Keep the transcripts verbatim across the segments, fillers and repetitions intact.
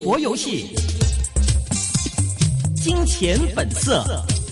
活遊戲，金錢本色。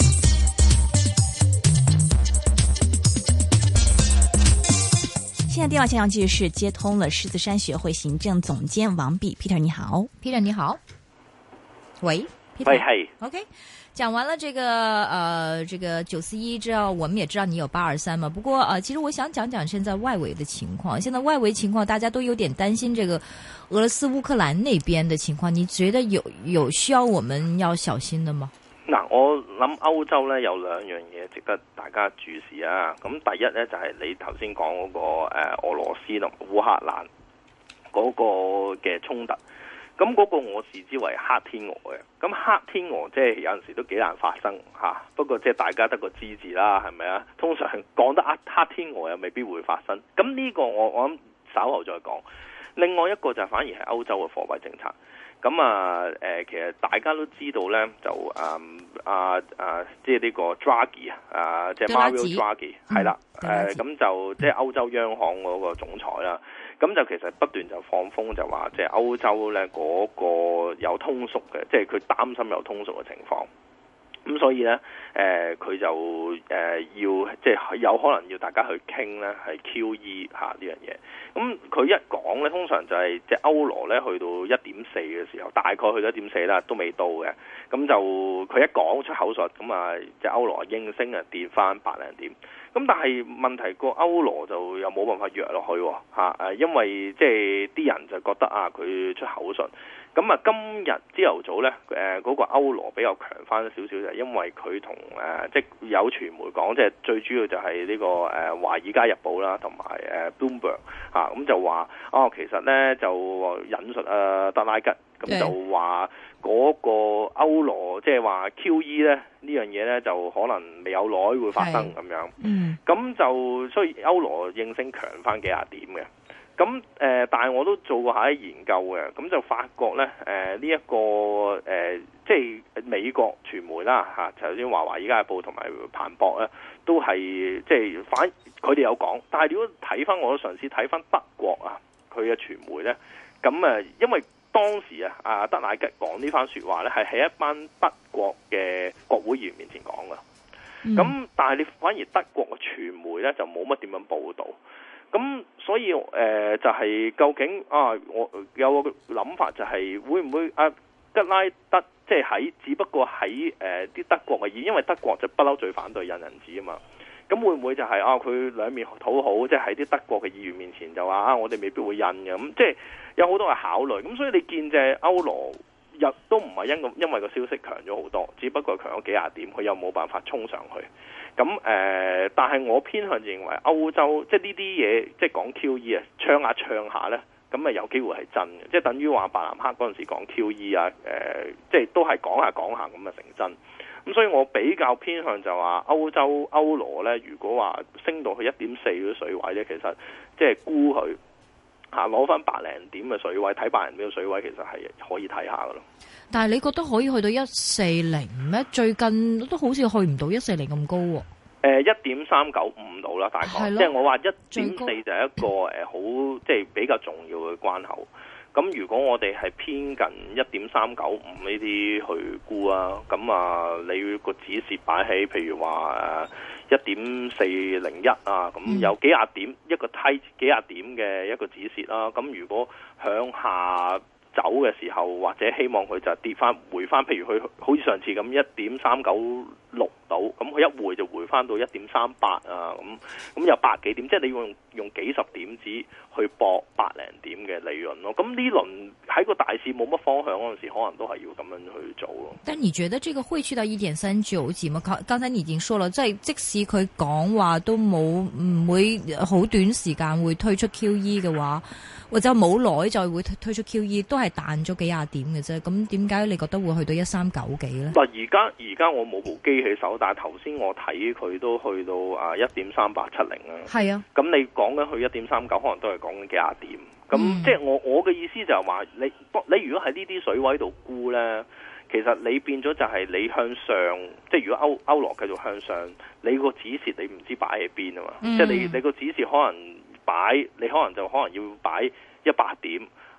現在電話線上繼續是接通了獅子山學會行政總監王弼 Peter， 你好 ，Peter 你好，喂 ，Peter， 喂係 ，OK， 講完了這個呃這個九四一之後，我們也知道你有八二三嘛，不過呃其實我想講講現在外圍的情況，現在外圍情況大家都有點擔心這個俄羅斯烏克蘭那邊的情況，你覺得有有需要我們要小心的嗎？ 嗱，我諗歐洲咧有兩樣嘢值得大家注視啊。咁第一咧就係、是、你頭先講嗰個誒、呃、俄羅斯同烏克蘭嗰個嘅衝突，咁嗰個我視之為黑天鵝嘅。咁黑天鵝即係有陣時都幾難發生嚇、啊，不過即係大家得個知字啦，係咪啊？通常講得黑黑天鵝又未必會發生。咁呢個我我諗稍後再講。另外一個就反而係歐洲嘅貨幣政策。咁啊，誒、呃，其實大家都知道咧，就誒啊啊，即係呢個 Draghi 啊，即係 Mario Draghi 係啦，誒，咁就即係歐洲央行嗰個總裁啦。咁就其實不斷就放風就話，即係歐洲咧嗰個有通縮嘅，即係佢擔心有通縮嘅情況。咁所以咧，誒、呃、佢就誒、呃、要即係有可能要大家去傾咧，係 Q E 嚇呢樣嘢。咁佢一講咧，通常就係即係歐羅咧去到一點四嘅時候，大概去到一點四啦，都未到嘅。咁就佢一講出口術，咁啊即係歐羅應聲啊跌翻百零點。咁但係問題個歐羅就又冇辦法弱落去嚇誒，因為即係啲人就覺得啊佢出口術。咁啊，今日朝頭早咧，誒、呃、嗰、那個歐羅比較強翻少少，就係因為佢同誒即係有傳媒講，即係最主要就係呢、這個誒、呃《華爾街日報》啦，同埋誒 Bloomberg 嚇，咁就話哦，其實咧就引述啊德拉吉，咁就話嗰個歐羅即係話 Q E 咧呢樣嘢咧就可能未有耐會發生咁樣，嗯，咁就所以歐羅應聲強翻幾廿點嘅。咁誒、呃，但係我都做過下啲研究嘅，咁就發覺咧，誒呢一個誒、呃，即係美國傳媒啦嚇，頭先話華爾街日報同埋彭博咧，都係即係反佢哋有講，但係如果睇翻我都嘗試睇翻德國啊，佢嘅傳媒咧，咁誒，因為當時啊，阿德乃吉講呢番説話咧，係喺一班德國嘅國會議員面前講嘅，咁、嗯、但係你反而德國嘅傳媒咧就冇乜點樣報導。咁所以誒、呃、就係、是、究竟啊，我有個諗法就係會唔會啊吉拉德即係喺只不過喺誒啲德國嘅議，因為德國就不嬲最反對印銀紙啊嘛。咁會唔會就係、是、啊佢兩面討好，即係喺啲德國嘅議員面前就話啊我哋未必會印嘅，咁即係有好多嘅考慮。咁所以你見隻歐羅日都唔係因個因為個消息強咗好多，只不過強咗幾廿點，佢又冇辦法衝上去。咁誒、呃，但係我偏向認為歐洲即係呢啲嘢，即係講 Q E 啊，唱下唱下咧，咁啊有機會係真嘅，即係等於話伯南克嗰陣時講 Q E 啊，誒、呃，即係都係講下講下咁啊成真。咁所以我比較偏向就話歐洲歐羅咧，如果話升到去一點四嗰啲水位咧，其實即係估佢嚇攞翻百零點嘅水位，睇百零點嘅水位，其實係可以睇下噶咯。 但係你覺得可以去到一四零咩？最近都好似去唔到一四零咁高喎、啊。 誒一點三九五度啦，大概，即係我話一點四就係一個誒好即係比較重要嘅關口。咁如果我哋係偏近一點三九五呢啲去估啊，咁啊你個止蝕擺喺譬如話誒一點四零一啊，咁有幾廿點、嗯、一個梯幾廿點嘅一個止蝕啦。咁如果向下走嘅時候，或者希望佢就跌翻回翻，譬如佢好似上次咁一點三九六度，咁佢一回就回翻到一點三八啊，咁咁有百幾點，即係你用用幾十點子去搏百零點嘅利潤咯。咁呢輪喺個大市冇乜方向嗰陣時，可能都係要咁樣去做咯。 但你覺得這個會去到一點三九幾嗎？剛才你已經說了，即係即使佢講話都冇唔會好短時間會推出 Q E 嘅話，或者冇耐就會推出 Q E， 都係彈咗幾廿點嘅啫。咁點解你覺得會去到一三九幾咧？ 嗱，而家而家我冇部機起手，但係頭先我睇佢都去到啊一點三八七零啦。係啊，咁你講緊去一點三九，可能都係講緊幾廿點。咁、嗯、即係我我嘅意思就係話，你你如果喺呢啲水位度沽咧，其實你變咗就係你向上，即係如果歐歐羅繼續向上，你個止蝕你唔知擺喺邊啊嘛。嗯、即係你你個止蝕可能擺，你可能就可能要擺一百點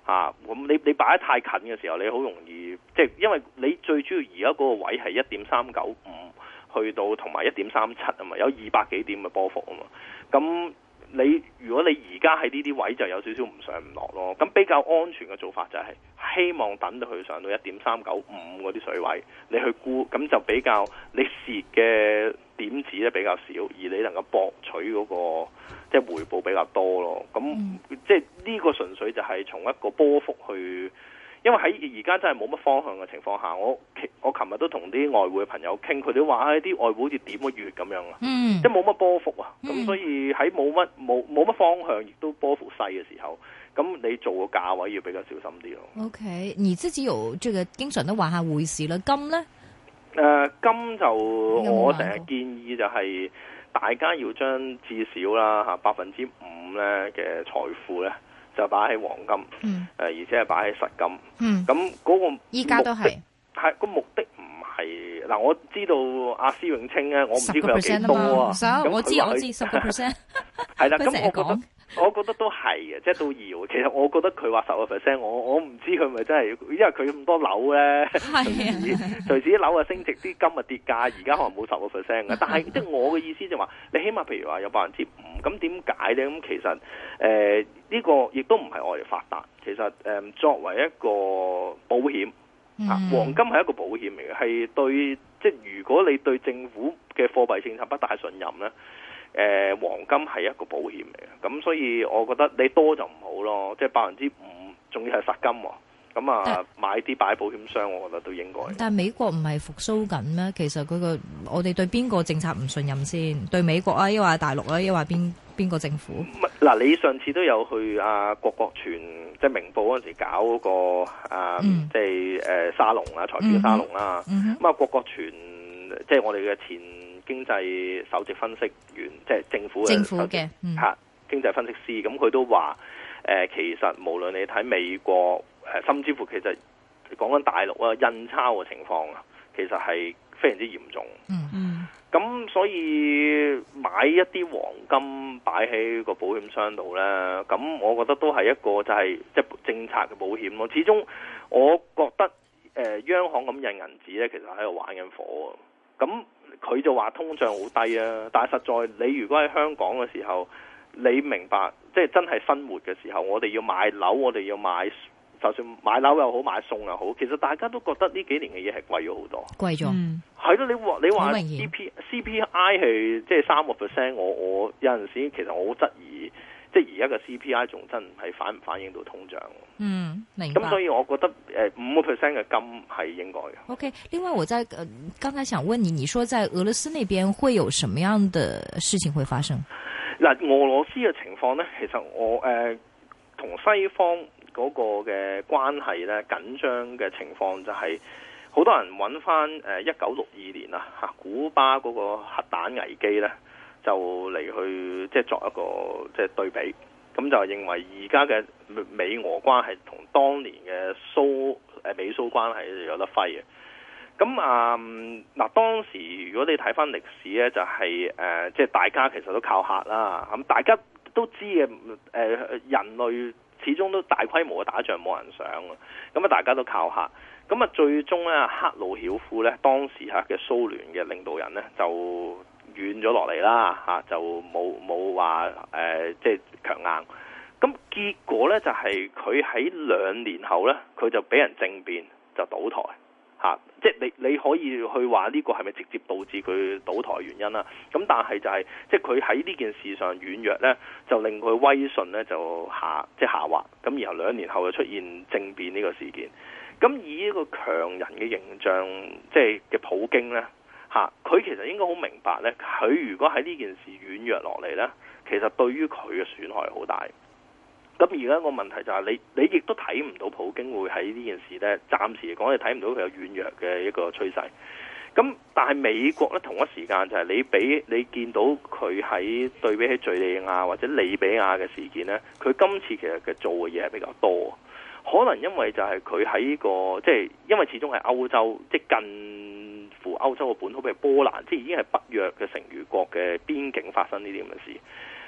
啊，咁你你擺得太近嘅時候，你好容易即係因為你最主要而家嗰個位係一點三九五去到同埋一點三七啊嘛，有二百幾點嘅波幅啊嘛，咁你如果你而家喺呢啲位就有少少唔上唔落咯，咁比較安全嘅做法就係希望等到佢上到一點三九五嗰啲水位，你去沽，咁就比較你蝕嘅點子咧比較少，而你能夠博取嗰個即係回報比較多咯。咁、嗯、即係呢個純粹就係從一個波幅去。因為喺而家真係冇乜方向嘅情況下，我我琴日都同啲外匯嘅朋友傾，佢哋話啲外匯好似點個月咁樣啊，嗯、即係冇乜波幅啊，咁、嗯、所以喺冇乜冇冇乜方向，亦都波幅細嘅時候，咁你做個價位要比較小心啲咯。 OK，你自己有這個經常都玩下匯市啦，金咧？ 誒、呃，金就我成日建議就係大家要將至少啦嚇百分之五咧嘅財富咧。就擺喺黃金，誒、嗯呃，而且係擺喺實金。咁嗰、嗯、個依家都係係個目的唔係嗱，我知道阿施永青咧，我唔知佢有幾多啊。咁我知我知十個 percent， 係啦。咁我覺得我覺得都係嘅，即係都要。其實我覺得佢話十個 percent，我我唔知佢咪真係，因為佢咁多樓咧，隨時隨時啲樓啊升值，啲金啊跌價，而家可能冇十個 percent 嘅。但係即係我嘅意思就話，你起碼譬如話有百分之五，咁點解咧？咁其實誒。呃呢個亦都唔係我哋發達，其實誒、嗯、作為一個保險，啊、嗯、黃金係一個保險嚟嘅，係對即係如果你對政府嘅貨幣政策不大信任咧，誒、呃、黃金係一個保險嚟嘅，咁所以我覺得你多就唔好咯，即係百分之五，仲要係實金喎。咁啊，買啲擺保險箱，我覺得都應該。 但係美國唔係復甦緊咩？其實佢個我哋對邊個政策唔信任先？對美國啊，抑或大陸啊，抑或邊邊個政府？ 嗱，你上次都有去啊郭國全即係明報嗰陣時搞嗰、那個啊，嗯、即係誒沙龍啊，財富沙龍啦。咁、嗯、啊，郭國全即係我哋嘅前經濟首席分析員，即係政府嘅政府嘅嚇、嗯、經濟分析師。咁佢都話誒、呃，其實無論你睇美國。誒，甚至乎其實講緊大陸啊，印鈔嘅情況啊，其實係非常之嚴重。嗯嗯。咁所以買一啲黃金擺喺個保險箱度咧，咁我覺得都係一個就係即係政策嘅保險咯。始終我覺得誒、呃、央行咁印銀紙咧，其實喺度玩緊火。咁佢就話通脹好低啊，但係實在你如果喺香港嘅時候，你明白即係真係生活嘅時候，我哋要買樓，我哋要買。就算買樓又好，買餸又好，其實大家都覺得呢幾年嘅嘢係貴咗好多，貴咗。係咯，你話你話 C P C P I 係即係三個 percent，我我有陣時其實我好質疑，即係而家嘅 C P I 仲真係反唔反映到通脹？嗯，明白。咁所以我覺得誒五個 percent 嘅金係應該嘅。OK， 另外我在呃剛才想問你，你說在俄羅斯那邊會有什麼樣的事情會發生？ 嗱，俄羅斯嘅情況咧，其實我誒同、呃、西方。嗰個嘅關係咧緊張嘅情況就係好多人揾翻誒一九六二年啊嚇古巴嗰個核彈危機咧，就嚟去即係作一個即係對比，咁就認為而家嘅美俄關係同當年嘅蘇誒美蘇關係有得揮嘅。咁啊嗱，當時如果你睇翻歷史咧，就係誒即係大家其實都靠嚇啦，咁大家都知嘅誒人類。始終都大規模嘅打仗冇人想啊，咁啊大家都靠嚇，咁啊最終咧赫魯曉夫咧當時嚇嘅蘇聯嘅領導人咧就軟咗落嚟啦嚇，就冇冇話誒即係強硬，咁結果咧就係佢喺兩年後咧佢就俾人政變就倒台。嚇！即係你你可以去話呢個係咪直接導致佢倒台原因啦？咁但係就係、是、即係佢喺呢件事上軟弱咧，就令佢威信咧就下即係下滑。咁然後兩年後就出現政變呢個事件。咁以呢個強人嘅形象，即係嘅普京咧嚇，佢其實應該好明白咧，佢如果喺呢件事軟弱落嚟咧，其實對於佢嘅損害好大。咁而家個問題就係你，你亦都睇唔到普京會喺呢件事咧，暫時嚟講你睇唔到佢有軟弱嘅一個趨勢。咁但係美國咧同一時間就係你俾你見到佢喺對比起敍利亞或者利比亞嘅事件咧，佢今次其實嘅做嘅嘢係比較多。可能因為就係佢喺呢個即係因為始終係歐洲，即係近乎歐洲嘅本土，譬如波蘭，即係已經係北約嘅成員國嘅邊境發生呢啲咁嘅事。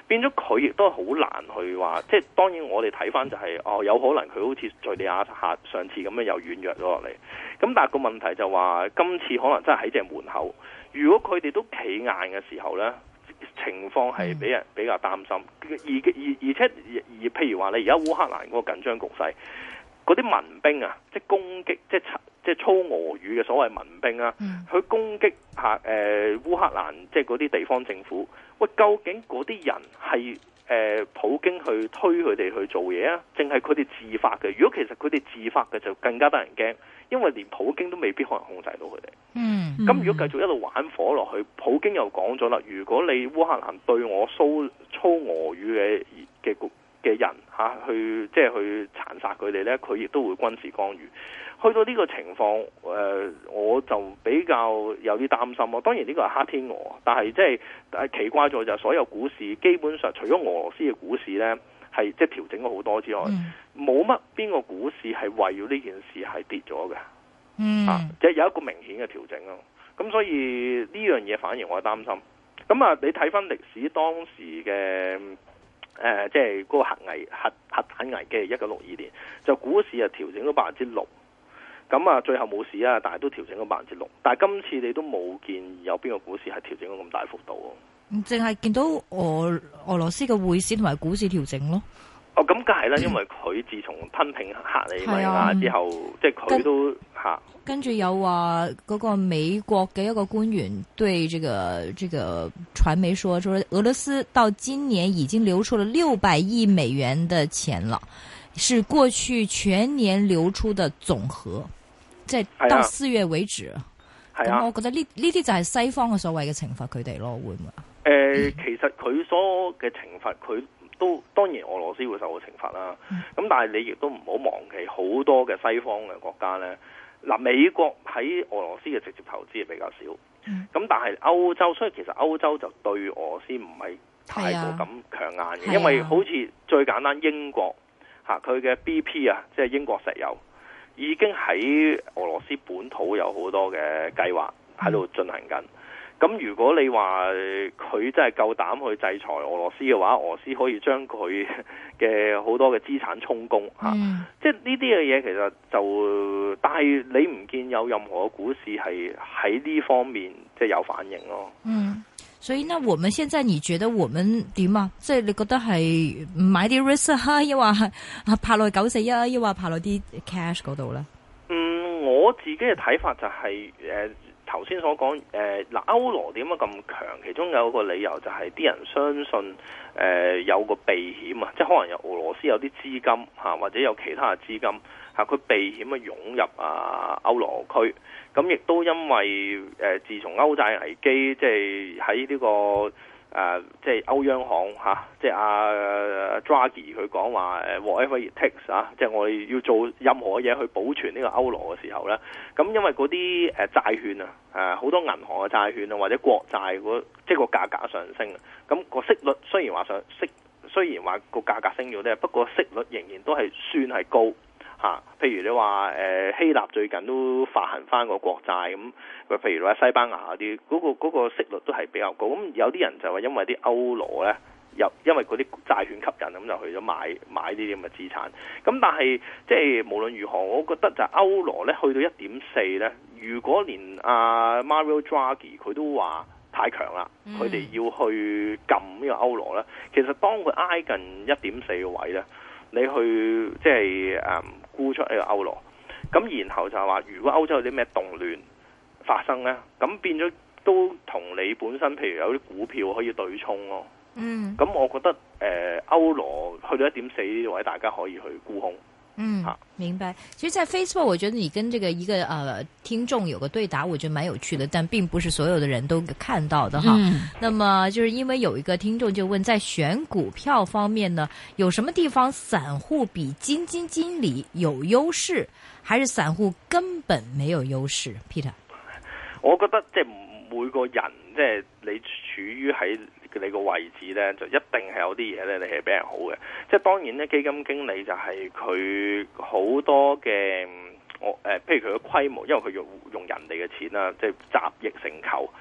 變咗佢亦都好難去話，即係當然我哋睇翻就係、是、哦，有可能佢好似敍利亞下上次咁樣又軟弱咗落嚟，咁但係個問題就話今次可能真係喺隻門口，如果佢哋都企硬嘅時候呢，情況係俾人比較擔心，而而而且而，而譬如話你而家烏克蘭嗰個緊張局勢，嗰啲民兵啊，即係攻擊，即係即係操俄語嘅所謂民兵啊，去攻擊下誒、呃、烏克蘭，即係嗰啲地方政府。喂，究竟嗰啲人係誒、呃、普京去推佢哋去做嘢啊，定係佢哋自發嘅？如果其實佢哋自發嘅，就更加得人驚，因為連普京都未必可能控制到佢哋。嗯，咁如果繼續一路玩火落去，普京又講咗啦，如果你烏克蘭對我蘇操俄語嘅嘅嘅人嚇、啊、去即係去殘殺佢哋呢，佢亦都會軍事干預。去到呢個情況，誒、呃、我就比較有啲擔心咯。當然呢個係黑天鵝，但係即係誒奇怪咗就係所有股市基本上除咗俄羅斯嘅股市呢，係即係調整咗好多之外，冇乜邊個股市係為咗呢件事係跌咗嘅。嗯，啊，即係有一個明顯嘅調整咯。咁所以呢樣嘢反而我係擔心。咁啊，你睇翻歷史當時嘅。誒、呃，即係嗰個核危核核彈危機，一九六二年就股市啊調整咗百分之六，咁啊最後冇事啊，但係都調整咗百分之六。但係今次你都冇見有邊個股市係調整咗咁大幅度喎？淨係見到俄俄羅斯嘅匯市同埋股市調整咯。 哦，咁梗係啦，因為佢自從吞併克里米亞之後，嗯、即係佢都嚇。 跟住有話嗰個美國嘅一個官員對這個這個傳媒說，說俄羅斯到今年已經流出了六百億美元的錢了，是過去全年流出的總和，即係到四月為止。咁、啊、我覺得呢呢啲就係西方嘅所謂嘅懲罰佢哋咯，會唔會？誒、 呃，其實佢所嘅懲罰佢。都當然俄羅斯會受到懲罰啦，咁、嗯、但係你亦都唔好忘記好多嘅西方嘅國家呢。嗱，美國喺俄羅斯嘅直接投資係比較少，咁、嗯、但係歐洲，所以其實歐洲就對俄羅斯唔係太過咁強硬嘅、啊，因為好似最簡單英國嚇佢嘅 B P 啊，即係英國石油已經喺俄羅斯本土有好多嘅計劃喺度進行緊。咁如果你話佢真係夠膽去制裁俄羅斯嘅話，俄羅斯可以將佢嘅好多嘅資產充公嚇、嗯啊，即係呢啲嘅嘢其實就，但係你唔見有任何股市係喺呢方面即係有反應咯。嗯， 所以呢，我們現在你覺得我們點啊？即係你覺得係買啲 risk 啊，抑或係拍落去九四一啊，抑或拍落啲 cash 嗰度咧？ 嗯，我自己嘅睇法就係、是、誒。呃頭先所講誒嗱歐羅點解咁強？其中有一個理由就係啲人相信誒、呃、有個避險啊，即係可能有俄羅斯有啲資金嚇，或者有其他嘅資金嚇，佢避險啊湧入啊歐羅區。咁亦都因為誒、呃、自從歐債危機，即係喺呢個。誒、呃，即係歐央行嚇、啊，即係阿 Draghi 佢講話誒 whatever it takes 啊，即係我哋要做任何嘢去保存呢個歐羅嘅時候咧，咁因為嗰啲誒債券啊，誒好多銀行嘅債券啊，或者國債嗰即係個價格上升啊，咁個息率雖然話上息，雖然話個價格升咗咧，不過息率仍然都係算係高。啊，譬如你話誒、呃、希臘最近都發行翻個國債咁，譬如話西班牙嗰啲，嗰、嗰個嗰個息率都係比較高。咁有啲人就話因為啲歐羅咧，又因為嗰啲債券吸引，咁就去咗買買呢啲咁嘅資產。咁但係即係無論如何，我覺得就歐羅咧去到一點四咧，如果連阿、啊、Mario Draghi 佢都話太強啦，佢、嗯、哋要去撳呢個歐羅咧，其實當佢挨近一點四嘅位咧，你去即係誒。嗯沽出呢個歐羅，咁然後就係話，如果歐洲有啲咩動亂發生呢，咁變咗都同你本身，譬如有啲股票可以對沖咯。嗯，咁我覺得誒、呃、歐羅去到一點四呢位，大家可以去沽空。 嗯，明白。其實，在 Facebook，我覺得你跟這個一個呃聽眾有個對答，我覺得蠻有趣的，但並不是所有的人都看到的哈。嗯。那麼，就是因為有一個聽眾就問，在選股票方面呢，有什麼地方散戶比基金經理有優勢，還是散戶根本沒有優勢 ？Peter， 我覺得即係每個人，即係你處於喺你個位置呢，就一定係有啲嘢呢，你係比人好嘅。即係當然呢，基金經理就係佢好多嘅我誒，譬如佢嘅規模，因為佢用用人哋嘅錢啦，即係集腋成裘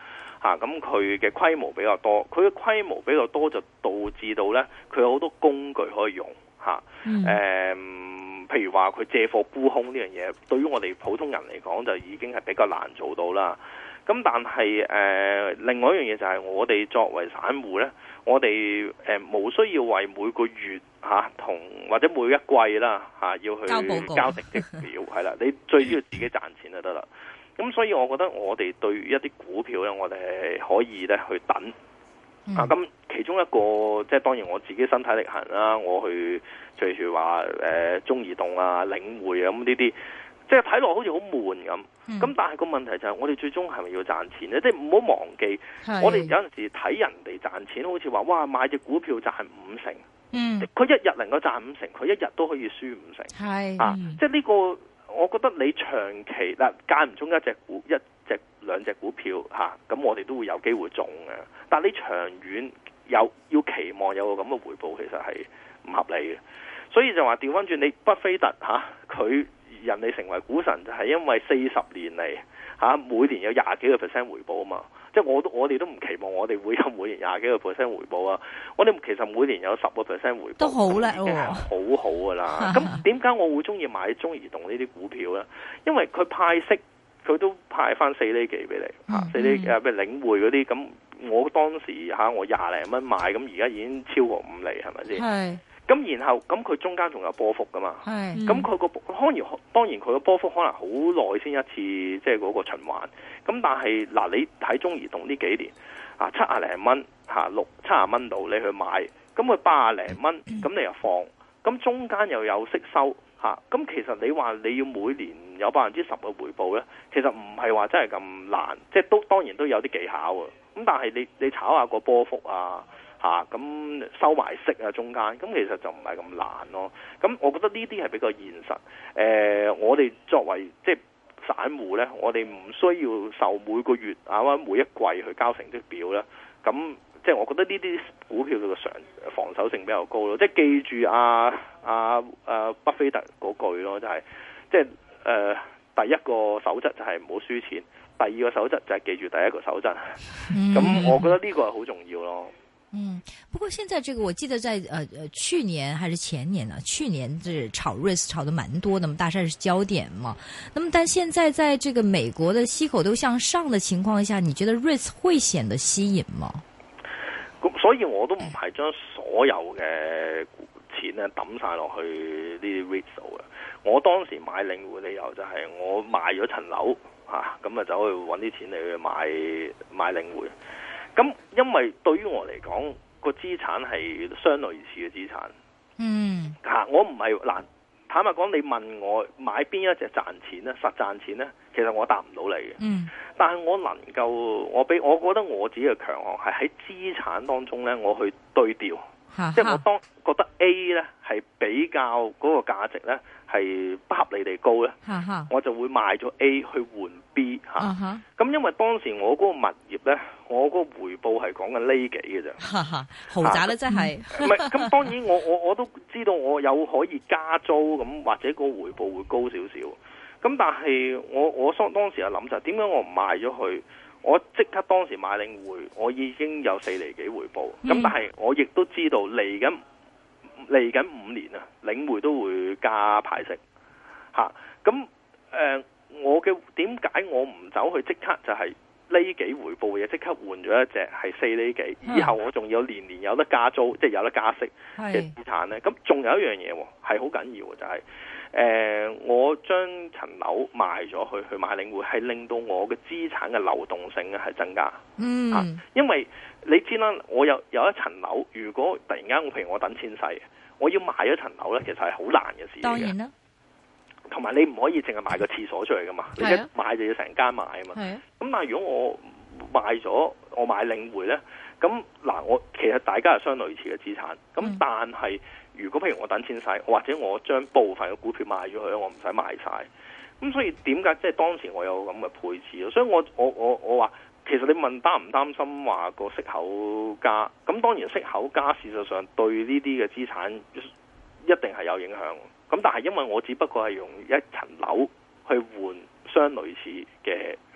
嚇，咁佢嘅規模比較多，佢嘅規模比較多就導致到呢，佢有好多工具可以用嚇。誒、 嗯呃，譬如話佢借貨沽空呢樣嘢，對於我哋普通人嚟講就已經係比較難做到啦。咁但係誒、呃，另外一樣嘢就係我哋作為散戶呢，我哋誒冇需要為每個月嚇同、啊、或者每一季啦嚇、啊、要去交報告交成績表，係啦，你最主要自己賺錢就得啦。咁所以我覺得我哋對於一啲股票呢，我哋係可以咧去等、嗯、啊。咁其中一個即係當然我自己身體力行啦，我去譬如話誒中移動啊、領匯啊咁呢啲。即係睇落好似好悶咁，咁、嗯、但係個問題就係我哋最終係咪要賺錢咧？即係唔好忘記，我哋有陣時睇人哋賺錢，好似話哇買隻股票賺五成，嗯，佢一日能夠賺五成，佢一日都可以輸五成，係啊，即係呢個，我覺得你長期嗱間唔中一隻股一隻兩隻股票嚇，咁、啊、我哋都會有機會中嘅，但係你長遠有要期望有個咁嘅回報，其實係唔合理嘅，所以就話調翻轉你巴菲特嚇佢。啊人哋成為股神就係因為四十年嚟嚇、啊、每年有廿幾個 percent 回報啊嘛，即係我都我哋都唔期望我哋會有每年廿幾個 percent 回報啊，我哋其實每年有十個 percent 回報都好叻喎，好好噶啦。咁點解我會中意買中移動呢啲股票咧？因為佢派息佢都派翻四厘幾俾你嚇，四厘誒咩領匯嗰啲咁，我當時嚇、啊、我廿零蚊買，咁而家已經超過五厘係咪先？係。咁然後咁佢中間仲有波幅噶嘛？係。咁佢個當然當然佢個波幅可能好耐先一次，即係嗰個循環。咁但係嗱，你睇中移動呢幾年啊，七啊零蚊嚇六七啊蚊度你去買，咁佢八啊零蚊，咁你又放，咁中間又有息收嚇。咁其實你話你要每年有百分之十嘅回報咧，其實唔係話真係咁難，即係都當然都有啲技巧啊。咁但係你你炒下個波幅啊。嚇咁、啊、收埋息啊，中間咁其實就唔係咁難咯。咁我覺得呢啲係比較現實。誒、呃，我哋作為即係散戶咧，我哋唔需要受每個月啊或者每一季去交成績表咧。咁即係我覺得呢啲股票嘅常防守性比較高咯。即係記住啊啊啊巴菲特嗰句咯，就係、是、即係誒、呃、第一個守則就係唔好輸錢，第二個守則就係記住第一個守則。咁、嗯、我覺得呢個係好重要咯。 嗯，不過現在這個我記得在呃呃去年還是前年呢？去年是炒 R E I T 炒得蠻多的嘛，大勢是焦點嘛。那麼但現在在這個美國的息口都向上的情況下，你覺得 R E I T 會顯得吸引嗎？ 咁所以我都唔係將所有嘅錢咧抌晒落去呢啲 R E I T 度嘅。我當時買領匯理由就係我賣咗層樓啊，咁啊走去揾啲錢嚟去買買領匯。咁，因為對於我嚟講，個資產係相類似嘅資產。嗯，嚇、啊，我唔係嗱，坦白講，你問我買邊一隻賺錢咧，實賺錢咧，其實我答唔到你嘅。嗯，但係我能夠，我俾我覺得我自己嘅強項係喺資產當中咧，我去對調，哈哈即係我當覺得 A 咧係比較嗰個價值咧係不合理地高咧，哈哈我就會賣咗 A 去換 B 嚇、啊。咁、啊、因為當時我嗰個物業咧，我嗰個回報係講緊呢幾嘅啫， 豪宅咧真係。唔係咁，當然我我我都知道我有可以加租咁，或者個回報會高少少。咁但係我我當當時又諗就係點解我唔賣咗佢？我即刻當時買領匯，我已經有四厘幾回報。咁、嗯、但係我亦都知道嚟緊嚟緊五年啊，領匯都會加派息嚇。咁、啊、誒、呃，我嘅點解我唔走去即刻就係、是？呢幾回報嘅嘢即刻換咗一隻係四厘幾，以後我仲有年年有得加租，即係有得加息嘅資產咧。咁仲有一樣嘢係好緊要嘅，就係、是、誒、呃、我將層樓賣咗去去買領匯，係令到我嘅資產嘅流動性咧係增加。嗯、啊，因為你知啦，我有有一層樓，如果突然間我譬如我等錢使，我要賣咗層樓咧，其實係好難嘅事嚟嘅。當然啦。同埋你唔可以淨係賣個廁所出嚟噶嘛，你一買就要成間買啊嘛。咁但係如果我賣咗，我買領匯咧，咁嗱我其實大家係相類似嘅資產。咁但係如果譬如我等錢使，或者我將部分嘅股票賣咗佢，我唔使賣晒。咁所以點解即係當時我有咁嘅配置咯？所以我我我我話其實你問擔唔擔心話個息口加？咁當然息口加事實上對呢啲嘅資產一定係有影響。咁但係因為我只不過係用一層樓去換相類似嘅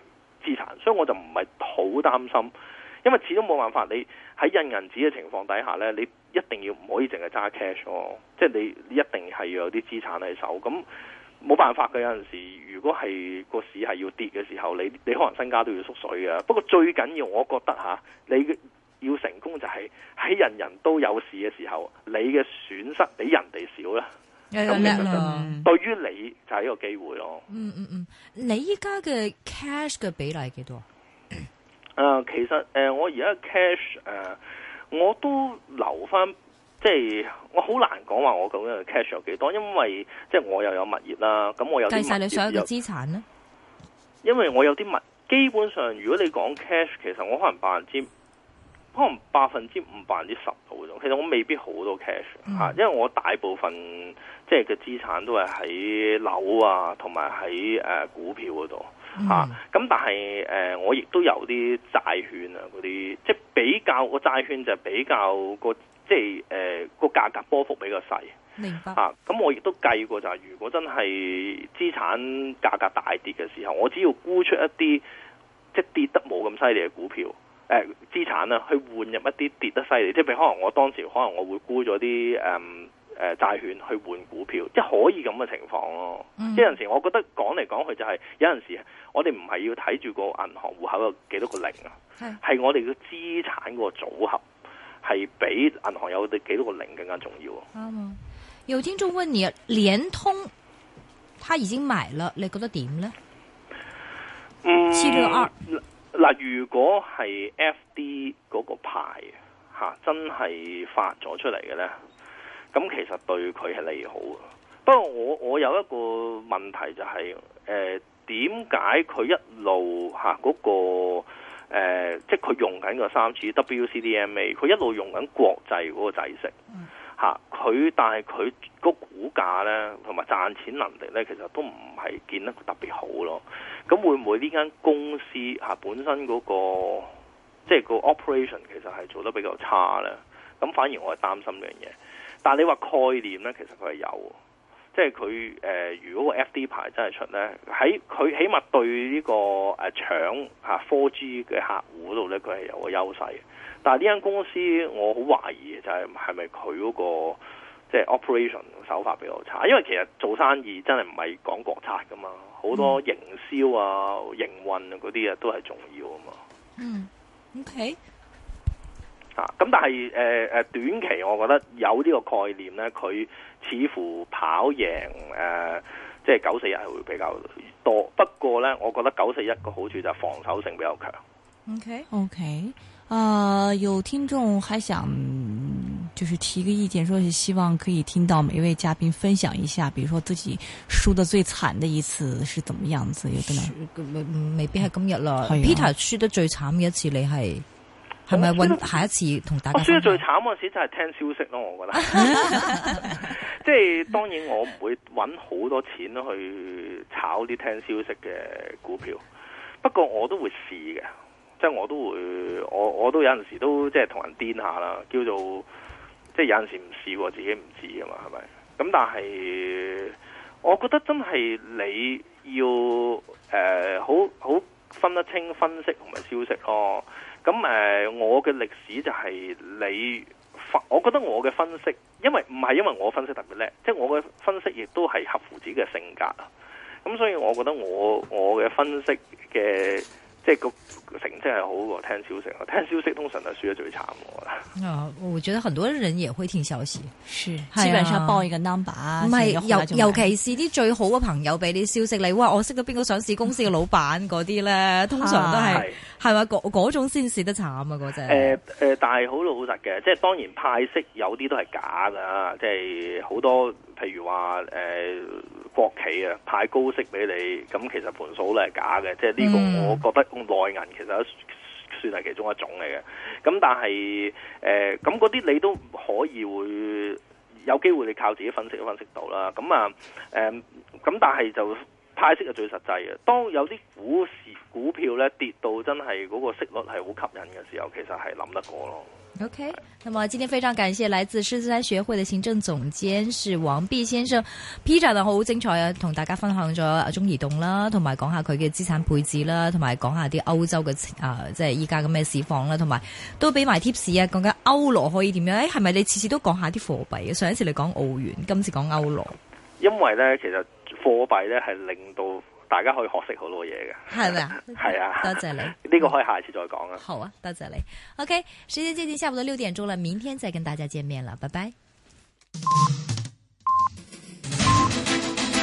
資產，所以我就唔係好擔心，因為始終冇辦法，你喺印銀紙嘅情況底下呢，你一定要唔可以淨係揸 cash 咯，即係你你一定係要有啲資產喺手，咁冇辦法嘅。有陣時如果係個市係要跌嘅時候，你你可能身家都要縮水嘅。不過最緊要我覺得吓，你要成功就係喺人人都有事嘅時候，你嘅損失比人哋少啦。咁其實對於你就係一個機會咯。 嗯嗯嗯，你依家嘅 cash 嘅比例係幾多？ 誒、呃，其實誒、呃，我而家 cash 誒、呃，我都留翻，即係我好難講話我究竟嘅 cash 有幾多，因為即係我又有物業啦，咁我有計晒你所有嘅資產咧。 因為我有啲物，基本上如果你講 cash，其實我可能百分之。可能百分之五、百分之十到嗰種，其實我未必好多 cash 嚇、嗯，因為我大部分即係嘅資產都係喺樓啊，同埋喺誒股票嗰度嚇。咁、啊、但係誒、呃，我亦都有啲債券啊，嗰啲即係比較個債券就比較個即係誒個價格波幅比較細。 明白嚇。咁、啊、我亦都計過就係，如果真係資產價格大跌嘅時候，我只要沽出一啲即係跌得冇咁犀利嘅股票。誒、呃、資產啦，去換入一啲跌得犀利，即係譬如可能我當時可能我會沽咗啲誒誒債券去換股票，即係可以咁嘅情況咯。嗯、即係有陣時，我覺得講嚟講去就係、是、有陣時，我哋唔係要睇住個銀行戶口有幾多個零啊，係我哋嘅資產個組合係比銀行有幾多個零更加重要。啱、 嗯、有聽眾問你，聯通他已經買了，你覺得點呢？ 嗯， 七六二。 嗱，如果係 F D 嗰個牌嚇、啊、真係發咗出嚟嘅咧，咁其實對佢係利好嘅。不過我我有一個問題就係誒點解佢一路嚇嗰、啊那個、呃、即係佢用緊個三次 W C D M A， 佢一路用緊國際嗰個債息嚇佢，但係佢個股價咧同埋賺錢能力咧，其實都唔係見得特別好咯。咁會唔會呢間公司嚇本身嗰、那個即係個 operation 其實係做得比較差咧？咁反而我係擔心呢樣嘢。但係你話概念咧，其實佢係有，即係佢誒如果個 F D 牌真係出咧，喺佢起碼對呢、這個誒、啊、搶嚇 four G 嘅客戶度咧，佢係有個優勢。但係呢間公司我好懷疑就係係咪佢嗰個即係 operation 手法比較差？因為其實做生意真係唔係講國策噶嘛。好多營銷啊、營運啊嗰啲啊都係重要啊嘛。嗯，OK。啊，咁但係誒誒短期我覺得有呢個概念咧，佢似乎跑贏誒、呃、即係九四一係會比較多。不過咧，我覺得九四一個好處就係防守性比較強。 OK OK。啊、呃，有聽眾還想就是提個意見，說是希望可以聽到每一位嘉賓分享一下，比如說自己輸得最慘的一次是怎麼樣子，有冇？ 未必係今日啦。Peter 輸得最慘嘅一次，你係係咪揾下一次同大家？ 我輸得最慘嗰陣時就係聽消息咯，我覺得。即係當然我唔會揾好多錢去炒啲聽消息嘅股票，不過我都會試嘅。即係我都會，我我都有陣時都即係同人癲下啦，叫做即係有陣時唔試過自己唔知㗎嘛，係咪？咁但係我覺得真係你要誒好好分得清分析同埋消息咯。咁誒、呃，我嘅歷史就係你分，我覺得我嘅分析，因為唔係因為我分析特別叻，即係我嘅分析亦都係合乎自己嘅性格啊。咁所以我覺得我我嘅分析嘅。即係個成績係好過聽消息，聽消息通常係輸得最慘嘅。 啊，我覺得很多人也會聽消息， 是基本上報一個 number， 唔係尤尤其是啲最好嘅朋友俾啲消息你，哇！我識到邊個上市公司嘅老闆嗰啲咧，通常都係係咪嗰嗰種先蝕得慘啊？嗰隻誒誒，但係好老實嘅，即係當然派息有啲都係假㗎，即係好多譬如話誒。呃國企啊派高息俾你，咁其實盤數咧係假嘅，即係呢個我覺得內銀其實都算係其中一種嚟嘅。咁但係誒咁嗰啲你都可以會有機會你靠自己分析都分析到啦。咁啊誒咁但係就派息係最實際嘅。當有啲股市股票咧跌到真係嗰個息率係好吸引嘅時候，其實係諗得過咯。 OK， 那麼今天非常感謝來自獅子山學會的行政總監是王弼先生 Peter 啊，好精彩啊，同大家分享咗中移動啦，同埋講下佢嘅資產配置啦，同埋講下啲歐洲嘅啊，即係依家嘅咩市況啦，同埋都俾埋 tips 啊，講緊歐羅可以點樣？誒，係咪你次次都講下啲貨幣嘅？上一次你講澳元，今次講歐羅。 因為咧，其實貨幣咧係令到大家可以學識好多嘢嘅， 係咪啊？ 係啊， 多謝你。 呢個可以下次再講啊。 好啊，多謝你。OK，時間接近下午的六點鐘了，明天再跟大家見面了，拜拜。